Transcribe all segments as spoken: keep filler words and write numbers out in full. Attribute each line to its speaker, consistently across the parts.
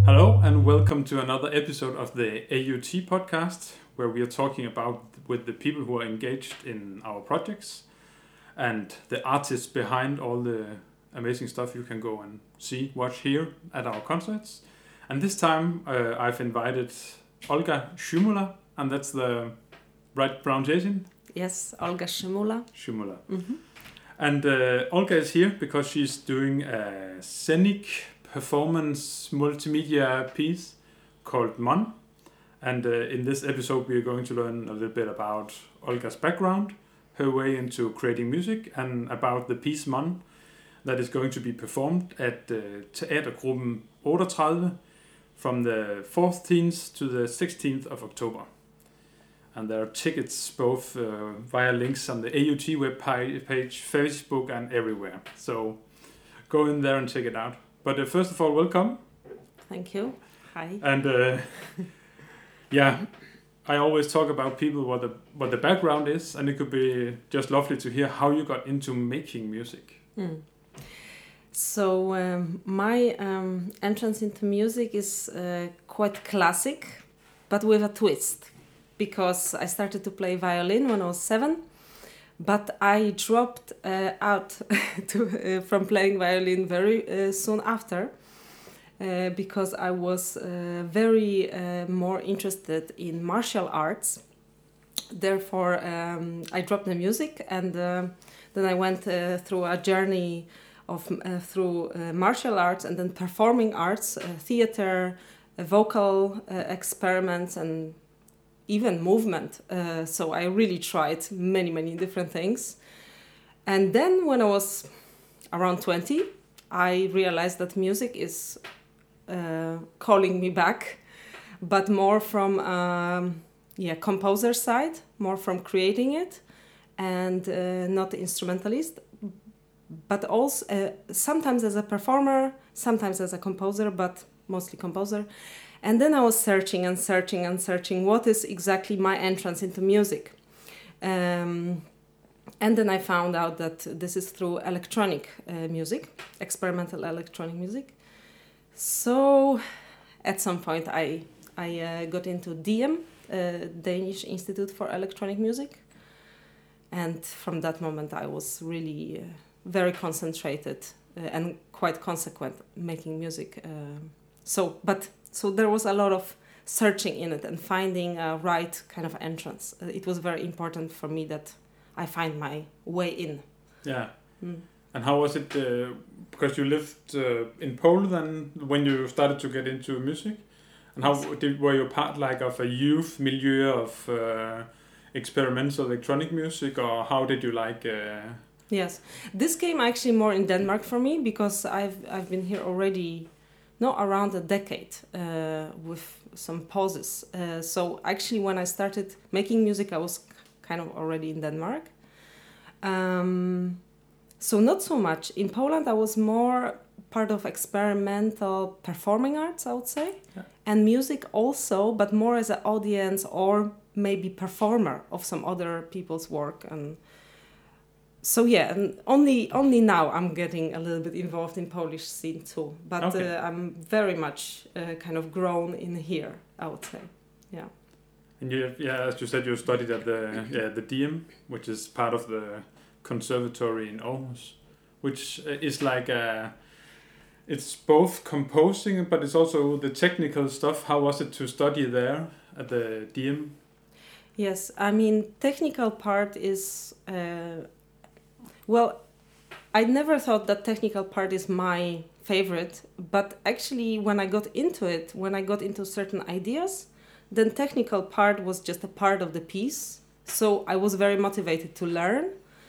Speaker 1: Hello and welcome to another episode of the A U T podcast, where we are talking about with the people who are engaged in our projects and the artists behind all the amazing stuff you can go and see, watch, hear at our concerts. And this time uh, I've invited Olga Szymula, and that's the right pronunciation?
Speaker 2: Yes, Olga Szymula.
Speaker 1: Szymula.
Speaker 2: Mm-hmm.
Speaker 1: And uh, Olga is here because she's doing a scenic performance multimedia piece called Mon. And uh, in this episode we are going to learn a little bit about Olga's background, her way into creating music, and about the piece Mon that is going to be performed at uh, Teatergruppen thirty-eight from the fourteenth to the sixteenth of October. And there are tickets both uh, via links on the A U T web page, Facebook, and everywhere. So go in there and check it out. But uh, first of all, welcome.
Speaker 2: Thank you. Hi.
Speaker 1: And uh, yeah, I always talk about people what the what the background is, and it could be just lovely to hear how you got into making music.
Speaker 2: Mm. So um, my um, entrance into music is uh, quite classic, but with a twist, because I started to play violin when I was seven, but I dropped uh, out to, uh, from playing violin very uh, soon after, uh, because I was uh, very uh, more interested in martial arts. Therefore, um, I dropped the music, and uh, then I went uh, through a journey of uh, through uh, martial arts and then performing arts, uh, theater, uh, vocal uh, experiments, and even movement. Uh, so I really tried many, many different things. And then when I was around twenty, I realized that music is uh, calling me back, but more from um, yeah composer side, more from creating it, and uh, not the instrumentalist, but also uh, sometimes as a performer, sometimes as a composer, but mostly composer. And then I was searching and searching and searching what is exactly my entrance into music. Um, and then I found out that this is through electronic uh, music, experimental electronic music. So at some point I, I uh, got into D I E M, uh, Danish Institute for Electronic Music. And from that moment I was really uh, very concentrated uh, and quite consequent making music. Uh, so, but... So there was a lot of searching in it and finding a right kind of entrance. Uh, it was very important for me that I find my way in.
Speaker 1: Yeah. Mm. And how was it, uh, because you lived uh, in Poland when you started to get into music? And how yes. did, were you part like of a youth milieu of uh, experimental electronic music, or how did you like... Uh...
Speaker 2: Yes, this came actually more in Denmark for me, because I've I've been here already... No, around a decade uh, with some pauses. Uh, so actually when I started making music, I was kind of already in Denmark. Um, so not so much. In Poland, I was more part of experimental performing arts, I would say. Yeah. And music also, but more as an audience or maybe performer of some other people's work. And So yeah, and only only now I'm getting a little bit involved in Polish scene too. But okay. uh, I'm very much uh, kind of grown in here, I would say. Yeah.
Speaker 1: And you, yeah, as you said, you studied at the yeah the D I E M, which is part of the conservatory in Aarhus, which is like a, it's both composing, but it's also the technical stuff. How was it to study there at the D I E M?
Speaker 2: Yes, I mean technical part is. Uh, Well, I never thought that technical part is my favorite, but actually when I got into it, when I got into certain ideas, then technical part was just a part of the piece. So I was very motivated to learn.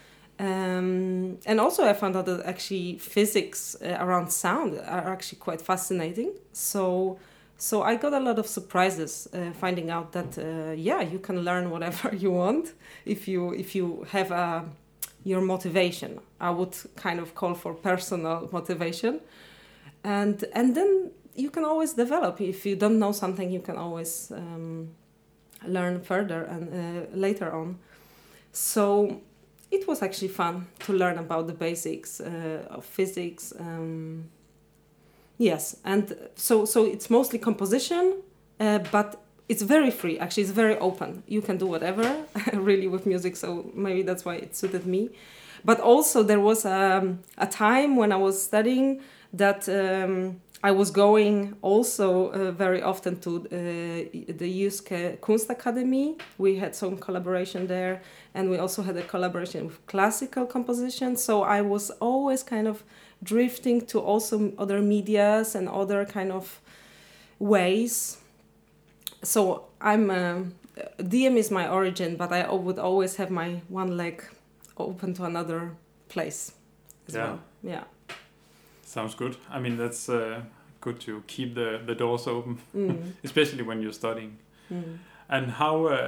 Speaker 2: Um, and also I found out that actually physics uh, around sound are actually quite fascinating. So so I got a lot of surprises uh, finding out that, uh, yeah, you can learn whatever you want if you if you have a... your motivation. I would kind of call for personal motivation. And and then you can always develop. If you don't know something, you can always um, learn further and uh, later on. So it was actually fun to learn about the basics uh, of physics. Um, Yes, and so so it's mostly composition, uh, but it's very free. Actually, it's very open. You can do whatever, really, with music. So maybe that's why it suited me. But also there was um, a time when I was studying that um, I was going also uh, very often to uh, the Jyske Kunstakademi. We had some collaboration there, and we also had a collaboration with classical composition. So I was always kind of drifting to also other medias and other kind of ways. So I'm um, D M is my origin, but I would always have my one leg open to another place as
Speaker 1: yeah.
Speaker 2: well. Yeah.
Speaker 1: Sounds good. I mean, that's uh, good to keep the, the doors open, mm. especially when you're studying. Mm. And how uh,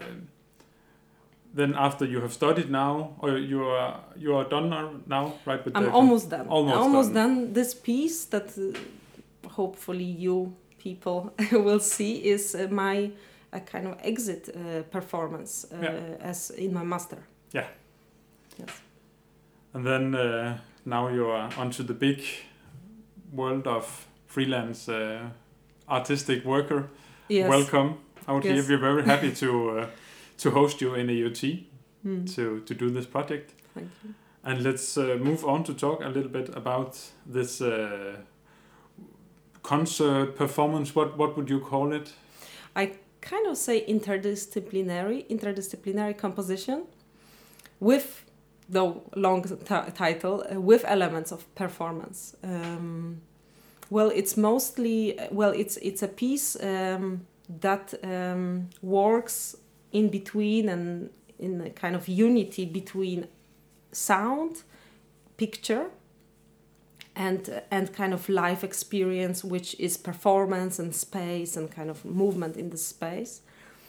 Speaker 1: then after you have studied now, or you are you are done now, right? With
Speaker 2: I'm
Speaker 1: the,
Speaker 2: almost done.
Speaker 1: Almost,
Speaker 2: almost
Speaker 1: done.
Speaker 2: done. This piece that uh, hopefully you people will see is uh, my a kind of exit uh, performance uh, yeah. as in my master.
Speaker 1: Yeah.
Speaker 2: Yes.
Speaker 1: And then uh, now you are onto the big world of freelance uh, artistic worker.
Speaker 2: Yes.
Speaker 1: Welcome out
Speaker 2: yes.
Speaker 1: here. We're very happy to uh, to host you in A U T mm. to to do this project.
Speaker 2: Thank you.
Speaker 1: And let's uh, move on to talk a little bit about this uh, concert performance. What what would you call it?
Speaker 2: I kind of say interdisciplinary interdisciplinary composition with the long t- title uh, with elements of performance. Um, well, it's mostly well, it's it's a piece um, that um, works in between and in a kind of unity between sound, picture, and uh, and kind of life experience, which is performance and space and kind of movement in the space.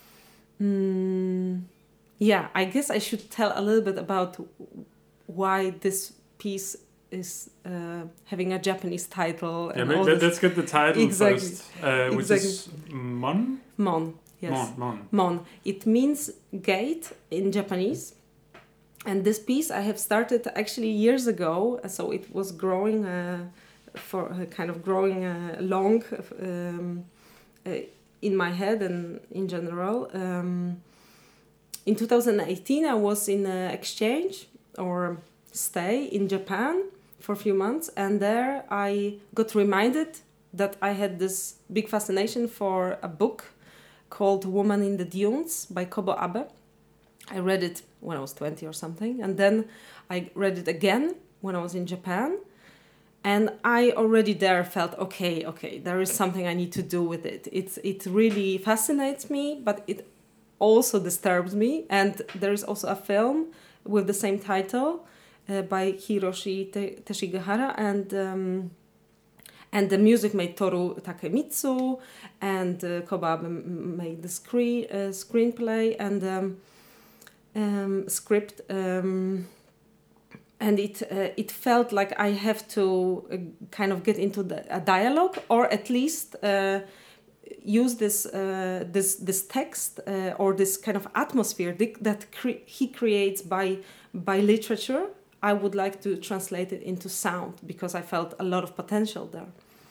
Speaker 2: Mm. Yeah, I guess I should tell a little bit about why this piece is uh, having a Japanese title.
Speaker 1: Yeah,
Speaker 2: and
Speaker 1: maybe,
Speaker 2: all
Speaker 1: let's
Speaker 2: this.
Speaker 1: get the title
Speaker 2: exactly.
Speaker 1: first, uh, which
Speaker 2: exactly.
Speaker 1: is Mon?
Speaker 2: Mon, yes.
Speaker 1: Mon, Mon.
Speaker 2: Mon. It means gate in Japanese. And this piece I have started actually years ago, so it was growing, uh, for uh, kind of growing uh, long um, uh, in my head and in general. Um, In two thousand eighteen, I was in an exchange or stay in Japan for a few months, and there I got reminded that I had this big fascination for a book called Woman in the Dunes by Kobo Abe. I read it when I was twenty or something, and then I read it again when I was in Japan, and I already there felt, okay, okay, there is something I need to do with it. It's, it really fascinates me, but it also disturbs me. And there is also a film with the same title uh, by Hiroshi Te- Teshigahara, and um, and the music made Toru Takemitsu, and uh, Kobabe made the screen uh, screenplay and um, um, script, um, and it uh, it felt like I have to uh, kind of get into the, a dialogue, or at least Uh, use this uh, this this text uh, or this kind of atmosphere that cre- he creates by by literature. I would like to translate it into sound, because I felt a lot of potential there.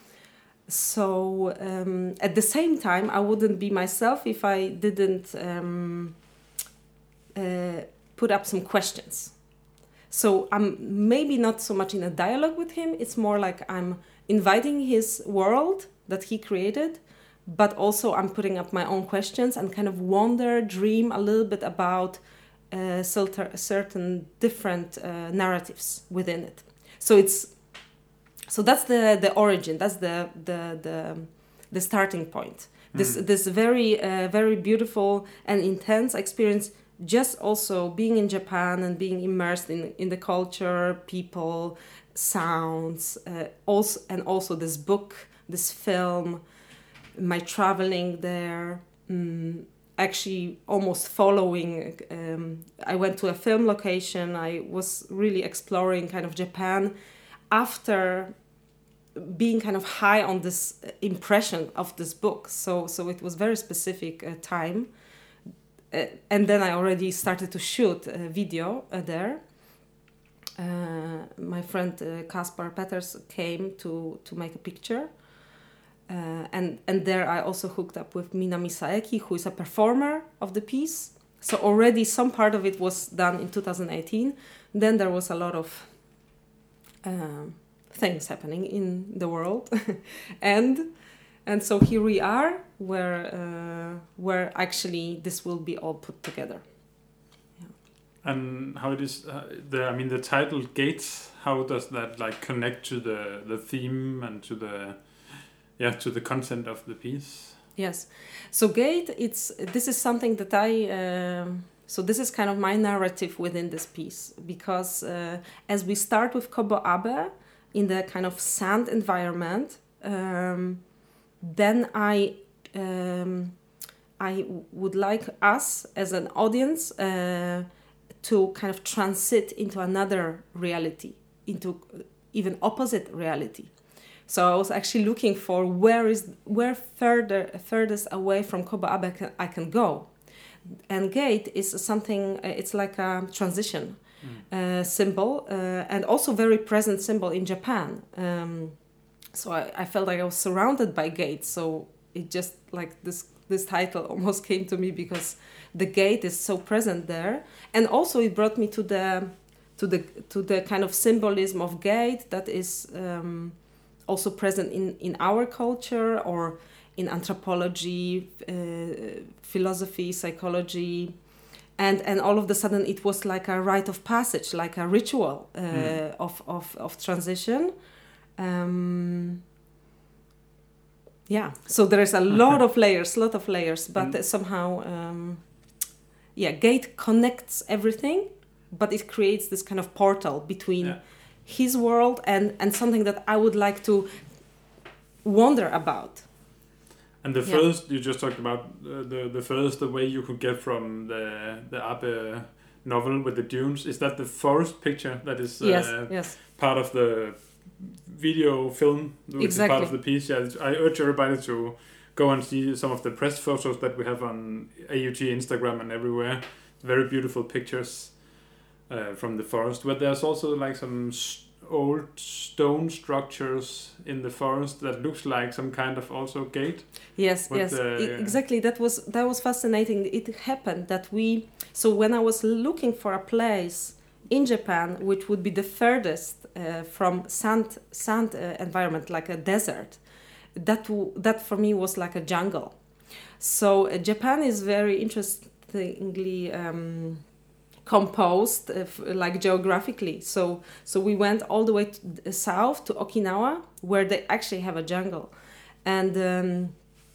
Speaker 2: So um, at the same time, I wouldn't be myself if I didn't um, uh, put up some questions. So I'm maybe not so much in a dialogue with him. It's more like I'm inviting his world that he created, but also I'm putting up my own questions and kind of wonder, dream a little bit about uh, certain different uh, narratives within it. So it's so that's the the origin. That's the the the, the starting point. Mm. This this very uh, very beautiful and intense experience. Just also being in Japan and being immersed in in the culture, people, sounds, uh, also and also this book, this film. My traveling there, um, actually almost following, um, I went to a film location. I was really exploring kind of Japan after being kind of high on this impression of this book. So so it was very specific uh, time. Uh, and then I already started to shoot a video uh, there. uh, my friend uh, Kaspar Peters came to, to make a picture. Uh, and, and there I also hooked up with Minami Saeki, who is a performer of the piece. So already some part of it was done in two thousand eighteen. Then there was a lot of um, things happening in the world. and and so here we are, where uh, where actually this will be all put together.
Speaker 1: And how it is, uh, the I mean, the title Gates, how does that like connect to the, the theme and to the, yeah, to the content of the piece?
Speaker 2: Yes. So Gate, it's, this is something that I, um so this is kind of my narrative within this piece, because uh, as we start with Kobo Abe in the kind of sand environment, um, then I, um, I would like us as an audience uh, to kind of transit into another reality, into even opposite reality. So I was actually looking for where is where further furthest away from Kobo Abe I can, I can go, and Gate is something. It's like a transition mm. uh, symbol, uh, and also very present symbol in Japan. Um, so I, I felt like I was surrounded by gates. So it just like this this title almost came to me because the gate is so present there, and also it brought me to the to the to the kind of symbolism of gate that is um, also present in, in our culture or in anthropology, uh, philosophy, psychology, and and all of a sudden it was like a rite of passage, like a ritual uh, mm. of, of of transition. Um, yeah, so there is a lot of layers, lot of layers, but mm. somehow, um, yeah, Gate connects everything, but it creates this kind of portal between yeah. his world and, and something that I would like to wonder about.
Speaker 1: And the
Speaker 2: yeah.
Speaker 1: first, you just talked about uh, the the first the way you could get from the the Abe novel with the dunes. Is that the forest picture that is uh,
Speaker 2: yes, yes.
Speaker 1: part of the video film, which
Speaker 2: exactly.
Speaker 1: is part of the piece? Yeah, I urge everybody to go and see some of the press photos that we have on A U T Instagram and everywhere. Very beautiful pictures uh, from the forest. But there's also like some st- old stone structures in the forest that looks like some kind of also gate.
Speaker 2: Yes,
Speaker 1: but,
Speaker 2: yes,
Speaker 1: uh,
Speaker 2: I- exactly. That was that was fascinating. It happened that we. So when I was looking for a place in Japan, which would be the furthest uh, from sand sand uh, environment, like a desert, that w- that for me was like a jungle. So uh, Japan is very interestingly um, composed, uh, f- like geographically. So so we went all the way to the south to Okinawa, where they actually have a jungle, and um,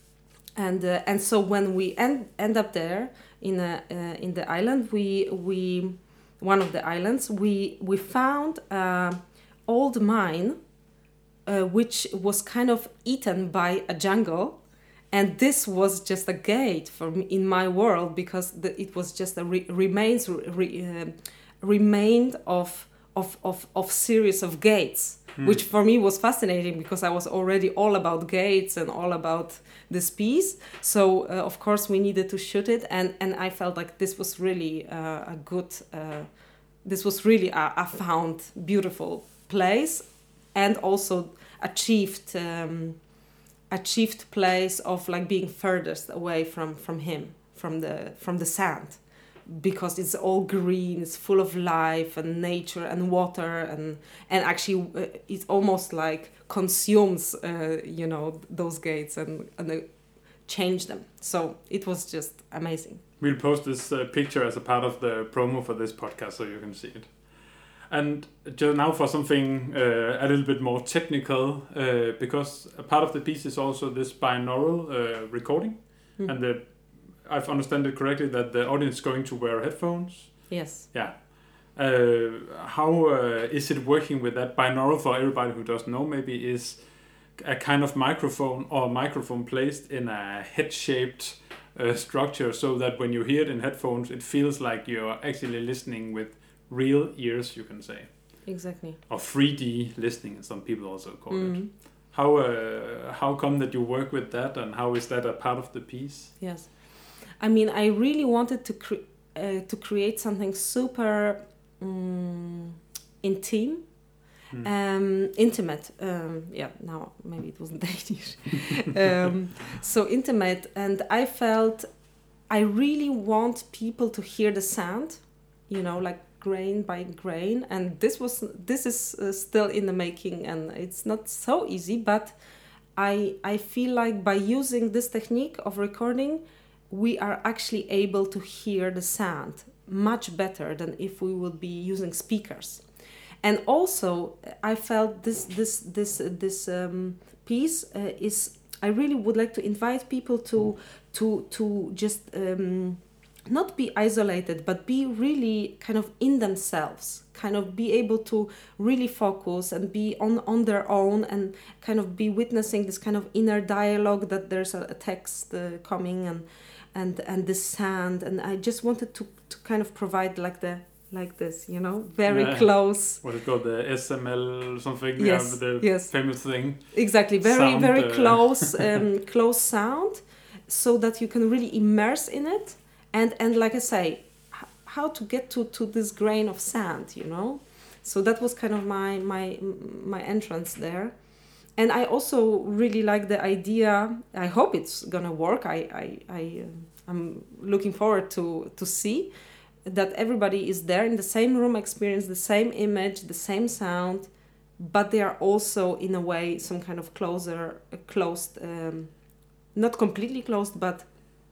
Speaker 2: and uh, and so when we end end up there in a uh, in the island, we we one of the islands we we found an old mine, uh, which was kind of eaten by a jungle. And this was just a gate for me in my world, because the, it was just a re- remains re, uh, remained of of of of series of gates, mm. which for me was fascinating because I was already all about gates and all about this piece. So uh, of course we needed to shoot it, and and I felt like this was really uh, a good, uh, this was really a, a found beautiful place, and also achieved. Um, achieved place of like being furthest away from from him, from the from the sand, because it's all green, it's full of life and nature and water, and and actually uh, it almost like consumes uh, you know those gates and and uh, change them. So it was just amazing.
Speaker 1: We'll post this uh, picture as a part of the promo for this podcast so you can see it. And just now for something uh, a little bit more technical, uh, because a part of the piece is also this binaural uh, recording, mm. and the, I've understood it correctly that the audience is going to wear headphones.
Speaker 2: Yes.
Speaker 1: Yeah. Uh, how uh, is it working with that? Binaural, for everybody who doesn't know, maybe is a kind of microphone or a microphone placed in a head-shaped uh, structure, so that when you hear it in headphones, it feels like you're actually listening with real ears, you can say.
Speaker 2: Exactly.
Speaker 1: Or three D listening, some people also call
Speaker 2: mm.
Speaker 1: it. How uh, how come that you work with that, and how is that a part of the piece?
Speaker 2: Yes, I mean, I really wanted to cre- uh, to create something super um, intimate.
Speaker 1: Mm.
Speaker 2: Um, intimate, um, yeah, now maybe it wasn't Danish. um, so intimate, and I felt I really want people to hear the sound, you know, like grain by grain, and this was this is uh, still in the making, and it's not so easy, but I I feel like by using this technique of recording, we are actually able to hear the sound much better than if we would be using speakers. And also, I felt this this this uh, this um, piece uh, is. I really would like to invite people to to to just um, not be isolated, but be really kind of in themselves, kind of be able to really focus and be on on their own, and kind of be witnessing this kind of inner dialogue that there's a, a text uh, coming and and and the sound, and I just wanted to to kind of provide like the. Like this, you know, very
Speaker 1: yeah.
Speaker 2: close.
Speaker 1: What is called the S M L something?
Speaker 2: Yes,
Speaker 1: yeah, the
Speaker 2: yes.
Speaker 1: famous thing.
Speaker 2: Exactly, very
Speaker 1: sound,
Speaker 2: very
Speaker 1: uh,
Speaker 2: close, um, close sound, so that you can really immerse in it. And and like I say, h- how to get to to this grain of sand, you know. So that was kind of my my my entrance there. And I also really like the idea. I hope it's gonna work. I I I uh, I'm looking forward to to see. That everybody is there in the same room, experience the same image, the same sound, but they are also in a way some kind of closer, uh, closed, um, not completely closed, but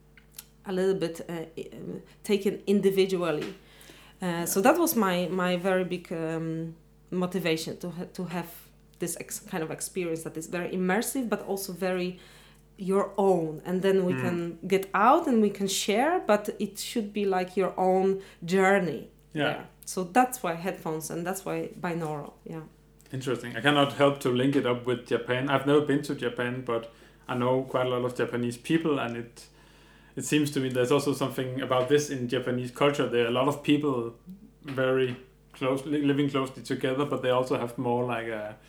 Speaker 2: a little bit uh, uh, taken individually. Uh, yeah. So that was my my very big um, motivation to ha- to have this ex- kind of experience that is very immersive, but also very your own, and then we mm. can get out and we can share, but it should be like your own journey.
Speaker 1: Yeah.
Speaker 2: There. So that's why headphones, and that's why binaural. Yeah.
Speaker 1: Interesting. I cannot help to link it up with Japan. I've never been to Japan, but I know quite a lot of Japanese people, and it it seems to me there's also something about this in Japanese culture. There are a lot of people very closely living closely together, but they also have more like a,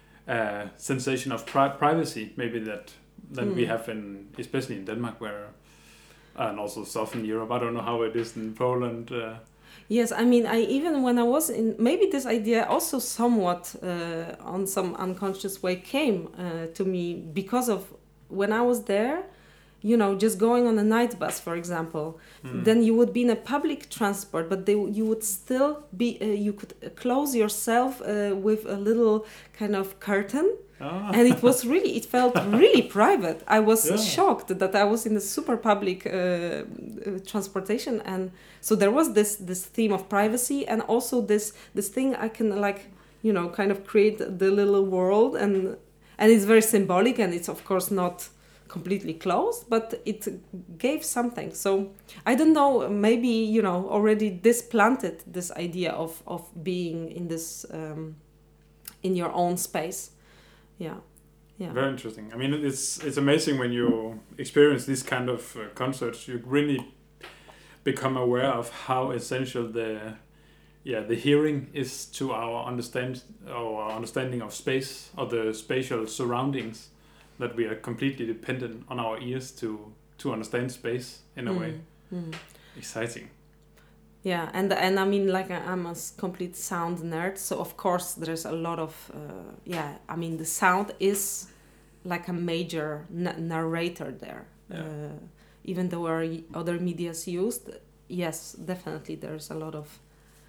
Speaker 1: a sensation of pri- privacy, maybe that. than mm. we have in, especially in Denmark, where, and also Southern Europe. I don't know how it is in Poland. Uh.
Speaker 2: Yes, I mean, I even when I was in, maybe this idea also somewhat uh, on some unconscious way came uh, to me because of when I was there, you know, just going on a night bus, for example, mm. then you would be in a public transport, but they, you would still be, uh, you could close yourself uh, with a little kind of curtain. Oh. And it was really, it felt really private. I was yeah. shocked that I was in a super public uh, uh, transportation, and so there was this this theme of privacy, and also this this thing I can like, you know, kind of create the little world, and and it's very symbolic, and it's of course not completely closed, but it gave something. So I don't know, maybe, you know, already this planted this idea of of being in this um, in your own space. Yeah, yeah.
Speaker 1: Very interesting. I mean, it's it's amazing when you experience this kind of uh, concerts. You really become aware of how essential the yeah the hearing is to our understand our understanding of space, or the spatial surroundings. That we are completely dependent on our ears to to understand space in a mm. way. Mm. Exciting.
Speaker 2: Yeah, and and I mean, like, I'm a complete sound nerd, so of course there's a lot of uh, yeah. I mean, the sound is like a major n- narrator there. Yeah. Uh, even though there are other medias used, yes, definitely there's a lot of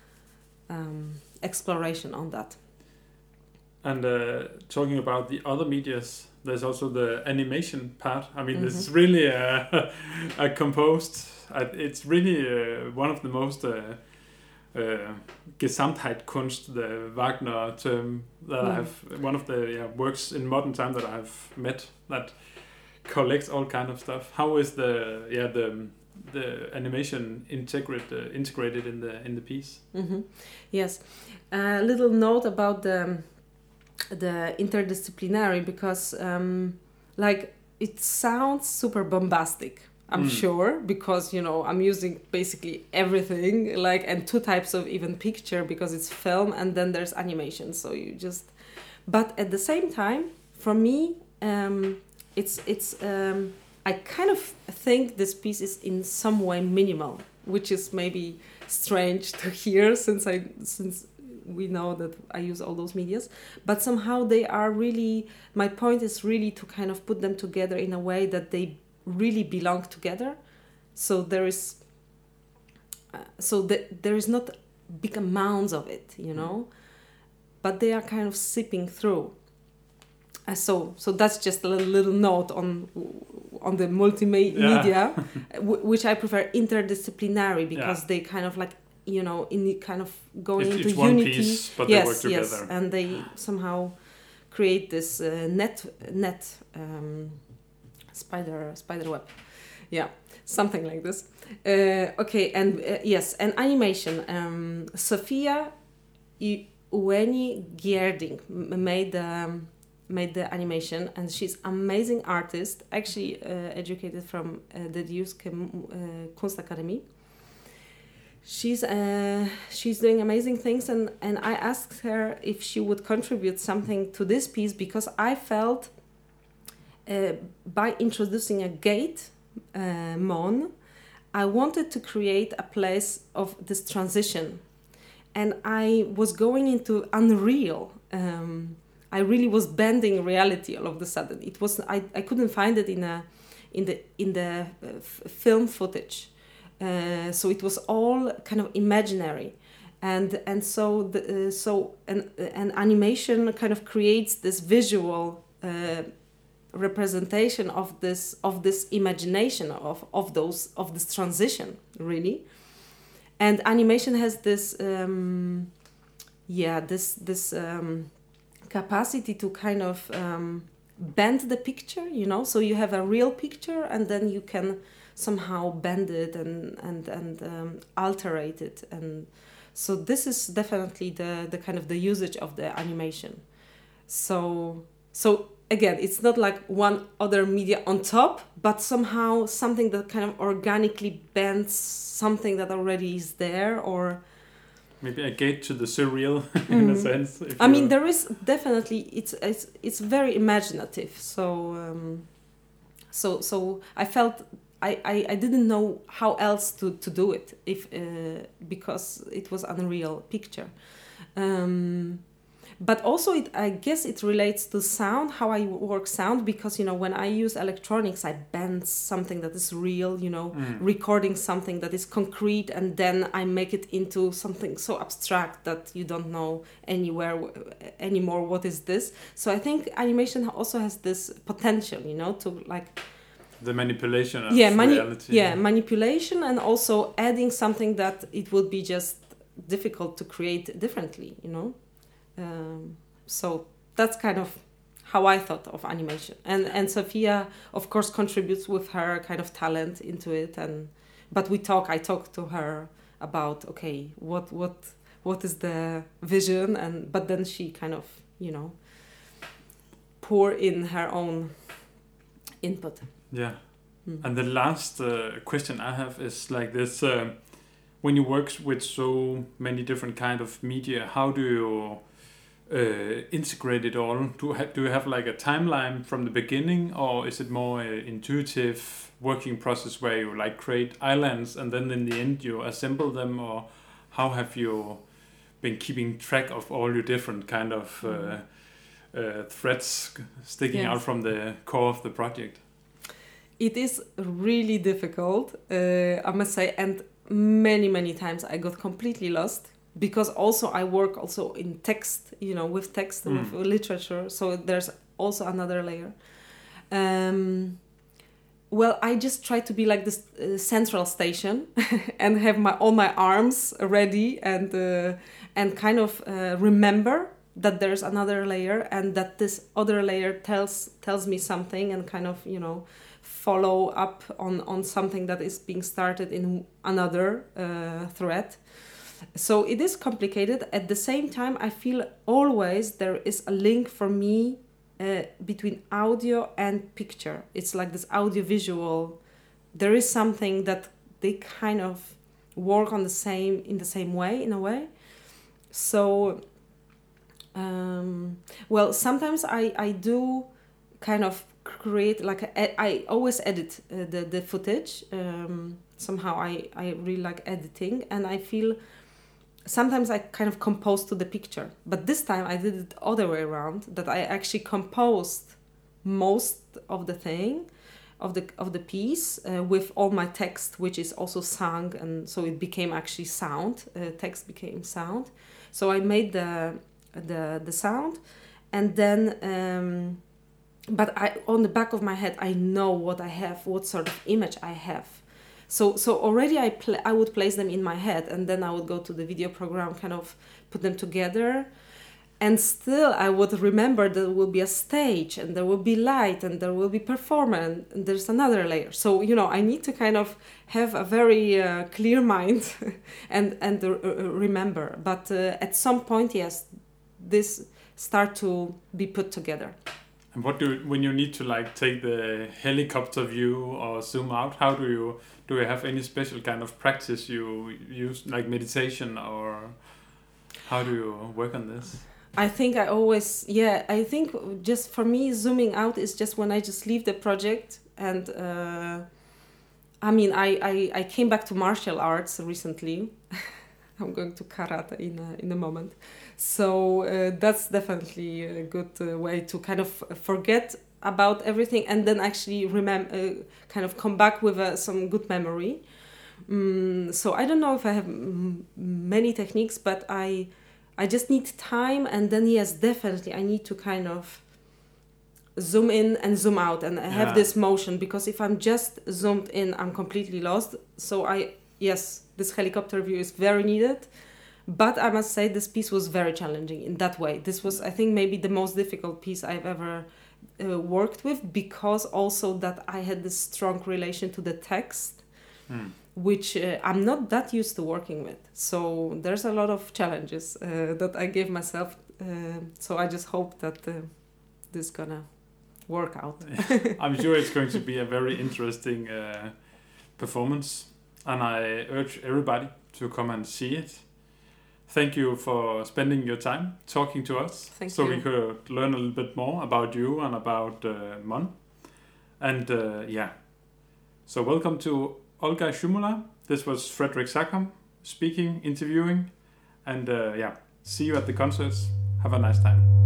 Speaker 2: um, exploration on that.
Speaker 1: And uh, talking about the other medias, there's also the animation part. I mean, mm-hmm. this is really a, a composed. It's really uh, one of the most uh, uh, Gesamtheitkunst, the Wagner term that mm. I have. One of the yeah, works in modern time that I have met that collects all kind of stuff. How is the yeah the the animation integrate uh, integrated in the in the piece?
Speaker 2: Mm-hmm. Yes, a uh, little note about the. the interdisciplinary, because um, like it sounds super bombastic, I'm mm. sure, because, you know, I'm using basically everything, like, and two types of even picture, because it's film and then there's animation, so you just, but at the same time, for me, um, it's it's um, I kind of think this piece is in some way minimal, which is maybe strange to hear, since I since we know that I use all those medias, but somehow they are really, my point is really to kind of put them together in a way that they really belong together. So there is, uh, so that there is not big amounts of it, you know, but they are kind of sipping through. Uh, so so that's just a little, little note on on the multimedia, yeah. w- which I prefer interdisciplinary, because yeah. they kind of like, you know, in the kind of going
Speaker 1: it's,
Speaker 2: into
Speaker 1: it's
Speaker 2: unity.
Speaker 1: One piece, but
Speaker 2: yes,
Speaker 1: they work together.
Speaker 2: Yes, and they somehow create this uh, net net um, spider spider web. Yeah, something like this. Uh, okay, and uh, yes, and animation. Um, Sofia Ueni Gierding made um, made the animation, and she's amazing artist. Actually, uh, educated from uh, the Duske uh, Kunstakademie. She's uh, she's doing amazing things, and, and I asked her if she would contribute something to this piece, because I felt uh, by introducing a gate, uh, Mon, I wanted to create a place of this transition, and I was going into unreal. Um, I really was bending reality all of a sudden. It was I, I couldn't find it in a in the in the uh, f- film footage. Uh, so it was all kind of imaginary, and and so the, uh, so an an animation kind of creates this visual uh, representation of this of this imagination of of those of this transition, really. And animation has this um, yeah this this um, capacity to kind of um, bend the picture, you know. So you have a real picture, and then you can somehow bend it and and and um, alterate it, and so this is definitely the the kind of the usage of the animation. So so again, it's not like one other media on top, but somehow something that kind of organically bends something that already is there, or
Speaker 1: maybe a gate to the surreal in mm. a sense.
Speaker 2: If I mean, there is definitely it's it's it's very imaginative. So um, so so I felt. I, I, I didn't know how else to, to do it if uh, because it was unreal picture, um, but also it I guess it relates to sound, how I work sound, because you know when I use electronics I bend something that is real, you know, mm. recording something that is concrete, and then I make it into something so abstract that you don't know anywhere anymore what is this. So I think animation also has this potential, you know, to like.
Speaker 1: The manipulation of
Speaker 2: yeah, mani-
Speaker 1: reality.
Speaker 2: Yeah, manipulation, and also adding something that it would be just difficult to create differently, you know. Um, so that's kind of how I thought of animation. And and Sofia, of course, contributes with her kind of talent into it. And but we talk. I talk to her about okay, what what what is the vision, and but then she kind of you know pour in her own input.
Speaker 1: Yeah, mm. And the last uh, question I have is like this: uh, when you work with so many different kind of media, how do you uh, integrate it all? Do ha- do you have like a timeline from the beginning, or is it more uh, intuitive working process where you like create islands and then in the end you assemble them, or how have you been keeping track of all your different kind of uh, mm. uh, threads sticking yes. out from the core of the project?
Speaker 2: It is really difficult, uh, I must say, and many, many times I got completely lost, because also I work also in text, you know, with text, mm. with literature, so there's also another layer. Um, well, I just try to be like this uh, central station and have my all my arms ready and uh, and kind of uh, remember that there's another layer, and that this other layer tells tells me something, and kind of, you know, follow up on, on something that is being started in another uh, thread. So it is complicated. At the same time, I feel always there is a link for me uh, between audio and picture. It's like this audio-visual. There is something that they kind of work on the same in the same way, in a way. So, um, well, sometimes I, I do kind of create like a, I always edit uh, the the footage. Um, somehow I I really like editing, and I feel sometimes I kind of compose to the picture, but this time I did it the other way around, that I actually composed most of the thing, of the of the piece uh, with all my text, which is also sung, and so it became actually sound. Uh, text became sound. So I made the the the sound, and then um, but I on the back of my head I know what I have, what sort of image I have. So so already I pl- I would place them in my head, and then I would go to the video program, kind of put them together. And still, I would remember there will be a stage, and there will be light, and there will be performance, and there's another layer. So, you know, I need to kind of have a very uh, clear mind and and uh, remember. But uh, at some point, yes, this start to be put together.
Speaker 1: And what do when you need to like take the helicopter view or zoom out? How do you do? You have any special kind of practice you use, like meditation, or how do you work on this?
Speaker 2: I think I always, yeah, I think just for me, zooming out is just when I just leave the project. And uh, I mean, I, I, I came back to martial arts recently. I'm going to karate in a, in a moment. So uh, that's definitely a good uh, way to kind of forget about everything and then actually remember, uh, kind of come back with uh, some good memory. Um, so I don't know if I have m- many techniques, but I... I just need time, and then yes, definitely I need to kind of zoom in and zoom out, and I have
Speaker 1: yeah.
Speaker 2: this motion, because if I'm just zoomed in, I'm completely lost. So I, yes, this helicopter view is very needed, but I must say this piece was very challenging in that way. This was, I think, maybe the most difficult piece I've ever uh, worked with, because also that I had this strong relation to the text. Hmm. Which uh, I'm not that used to working with. So there's a lot of challenges uh, that I gave myself. Uh, so I just hope that uh, this is gonna work out.
Speaker 1: I'm sure it's going to be a very interesting uh, performance, and I urge everybody to come and see it. Thank you for spending your time talking to us.
Speaker 2: Thank
Speaker 1: so
Speaker 2: you.
Speaker 1: we could learn a little bit more about you and about uh, Mon. And uh, yeah, so welcome to Olga Shumula. This was Frederick Sackham speaking, interviewing, and uh, yeah, see you at the concerts. Have a nice time.